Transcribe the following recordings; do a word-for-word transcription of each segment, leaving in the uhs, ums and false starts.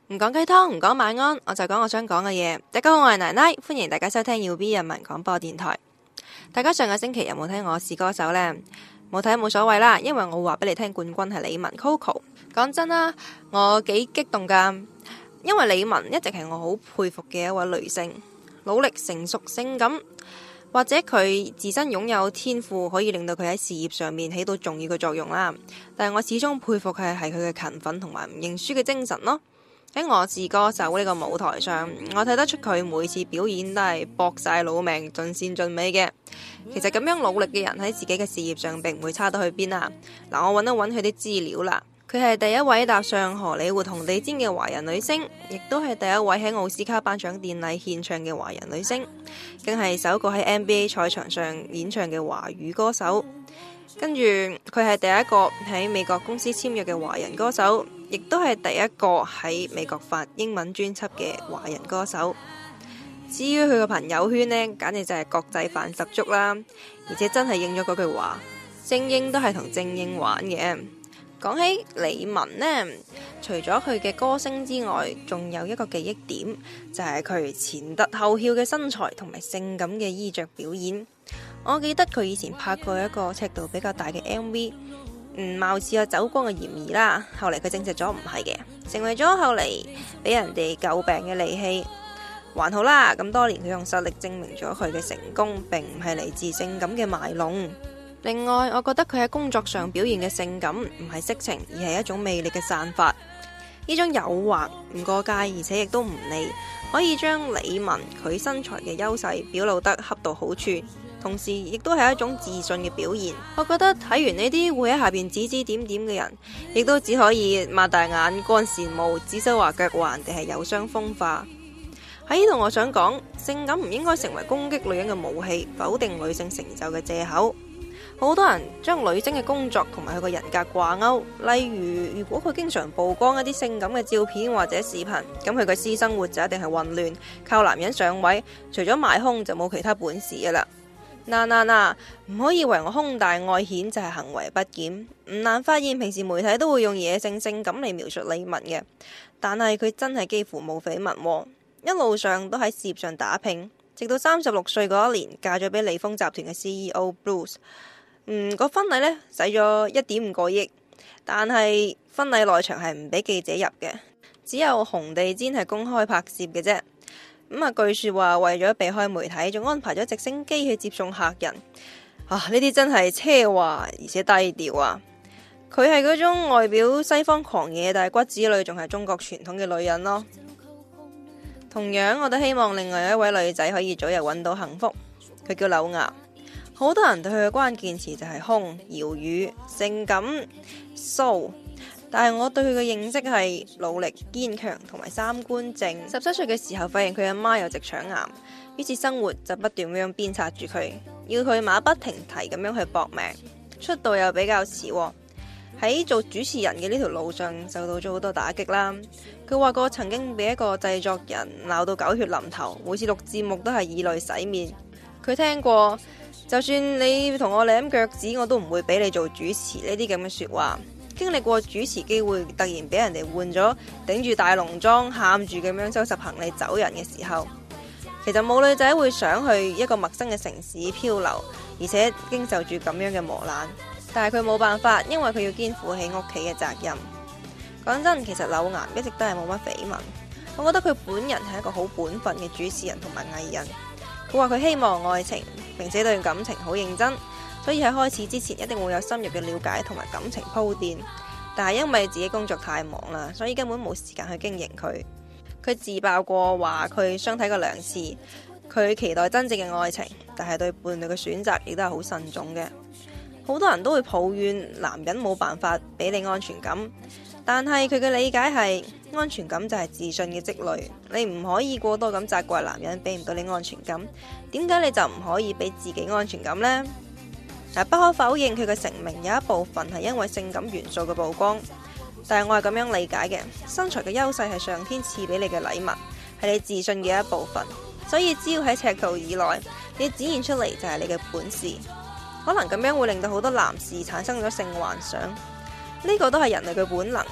唔講雞湯，唔講晚安，我就講我想講嘅嘢。大家好，我係奶奶，歡迎大家收聽耀 B 人民廣播電台。大家上個星期有冇聽我是歌手呢？冇睇冇所謂啦，因為我話俾你聽，冠軍係李玟 Coco。講真啦，我幾激動噶，因為李玟一直係我好佩服嘅一位女性，努力、成熟、性感，或者佢自身擁有天賦，可以令到佢喺事業上面起到重要嘅作用啦。但係我始終佩服佢係佢嘅勤奮同埋唔認輸嘅精神咯。喺我是歌手呢個舞台上，我睇得出佢每次表演都係搏晒老命、盡善盡美嘅。其實咁樣努力嘅人喺自己嘅事業上並唔會差到去邊啊！嗱，我揾一揾佢啲資料啦。佢係第一位踏上荷里活紅地毯嘅華人女星，亦都係第一位喺奧斯卡頒獎典禮獻唱嘅華人女星，更係首個喺 N B A 賽場上演唱嘅華語歌手。跟住佢係第一個喺美國公司簽約嘅華人歌手，亦都係第一個喺美國發英文專輯嘅華人歌手。至於佢嘅朋友圈呢，簡直就係國際範十足啦，而且真係應咗嗰句話，精英都係同精英玩嘅。講起李玟呢，除咗佢嘅歌聲之外，仲有一個記憶點，就係佢前凸後翹嘅身材同埋性感嘅衣着表演。我記得佢以前拍過一個尺度比較大嘅 M V， 嗯，貌似有走光嘅嫌疑啦。後嚟佢證實咗唔係嘅，成為咗後嚟俾人哋詬病嘅利器。還好啦，咁多年佢用實力證明咗佢嘅成功，並唔係嚟自性感嘅賣弄。另外，我覺得佢喺工作上表現嘅性感唔係色情，而係一種魅力嘅散發。呢種誘惑唔過界，而且亦都唔膩，可以將李玟佢身材嘅優勢表露得恰到好處，同時亦都係一種自信嘅表現。我覺得睇完呢啲會喺下邊指指點點嘅人，亦都只可以擘大眼乾羨慕，指手畫腳話人哋係有傷風化。喺呢度我想講，性感唔應該成為攻擊女人嘅武器，否定女性成就嘅借口。好多人將女星嘅工作同埋佢個人格掛鈎，例如如果佢經常曝光一啲性感嘅照片或者視頻，咁佢嘅私生活就一定係混亂，靠男人上位，除咗賣胸就冇其他本事噶啦。嗱嗱嗱，唔可以以為我胸大外顯就係行為不檢。唔難發現平時媒體都會用野性性感嚟描述李玟嘅，但係佢真係幾乎冇緋聞，一路上都喺事業上打拼，直到三十六歲嗰一年嫁咗俾利豐集團嘅 C E O Bruce。嗯，個婚禮呢，使咗一點五個億，但係婚禮內場係唔俾記者入嘅，只有紅地毯係公開拍攝嘅啫。咁、嗯、啊，據說話為咗避開媒體，仲安排咗直升機去接送客人。啊，呢啲真係奢華而且低調啊！佢係嗰種外表西方狂野，但係骨子裏仲係中國傳統嘅女人咯。同樣，我都希望另外一位女仔可以早日揾到幸福。佢叫柳岩。好多人對佢嘅關鍵詞就係胸、搖乳、性感、騷，但係我對佢嘅認識係努力、堅強同埋三觀正。十七歲嘅時候發現佢阿媽有直腸癌，於是生活就不斷咁樣鞭策住佢，要佢馬不停蹄咁樣去搏命。出道又比較遲，喺做主持人嘅呢條路上受到咗好多打擊啦。佢話過曾經俾一個製作人鬧到狗血淋頭，每次錄節目都係以淚洗面。佢聽過，就算你同我舐腳趾，我都唔會俾你做主持呢啲咁嘅說話。經歷過主持機會突然俾人哋換咗，頂住大濃妝，喊住咁樣收拾行李走人嘅時候，其實冇女仔會想去一個陌生嘅城市漂流，而且經受住咁樣嘅磨難。但係佢冇辦法，因為佢要肩負起屋企嘅責任。講真，其實柳岩一直都係冇乜緋聞。我覺得佢本人係一個好本分嘅主持人同埋藝人。佢話佢希望愛情，並且對感情好認真，所以喺開始之前一定會有深入嘅了解同埋感情鋪墊。但係因為自己工作太忙啦，所以根本冇時間去經營佢。佢自爆過話佢相睇過兩次，佢期待真正嘅愛情，但係對伴侶嘅選擇亦都係好慎重嘅。好多人都會抱怨男人冇辦法俾你安全感，但係佢嘅理解係安全感就係自信嘅積累，你唔可以過多咁責怪男人俾唔到你安全感。點解你就唔可以俾自己安全感呢？但不可否認佢嘅成名有一部分係因為性感元素嘅曝光，但係我係咁樣理解嘅，身材嘅優勢係上天賜俾你嘅禮物，係你自信嘅一部分，所以只要喺尺度以內，你展現出嚟就係你嘅本事。可能咁樣會令到好多男士產生咗性幻想，呢個都係人類嘅本能，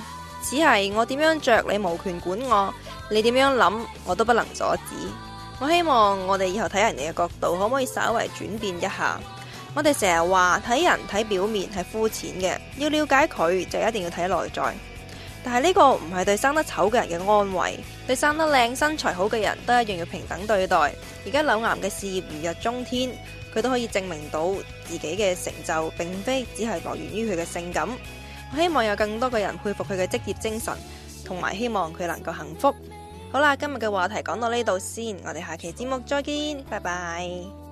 只係我點樣着你無權管我，你點樣諗我都不能阻止。我希望我哋以後睇人哋嘅角度可唔可以稍微轉變一下。我哋成日話睇人睇表面係膚淺嘅，要了解佢就一定要睇內在。但係呢個唔係對生得醜嘅人嘅安慰，對生得靚身材好嘅人都一樣要平等對待。而家柳岩嘅事業如日中天，佢都可以證明到自己嘅成就並非只係來源於佢嘅性感。我希望有更多嘅人佩服佢嘅職業精神，同埋希望佢能夠幸福。好啦，今日嘅話題講到呢度先，我哋下期節目再見，拜拜。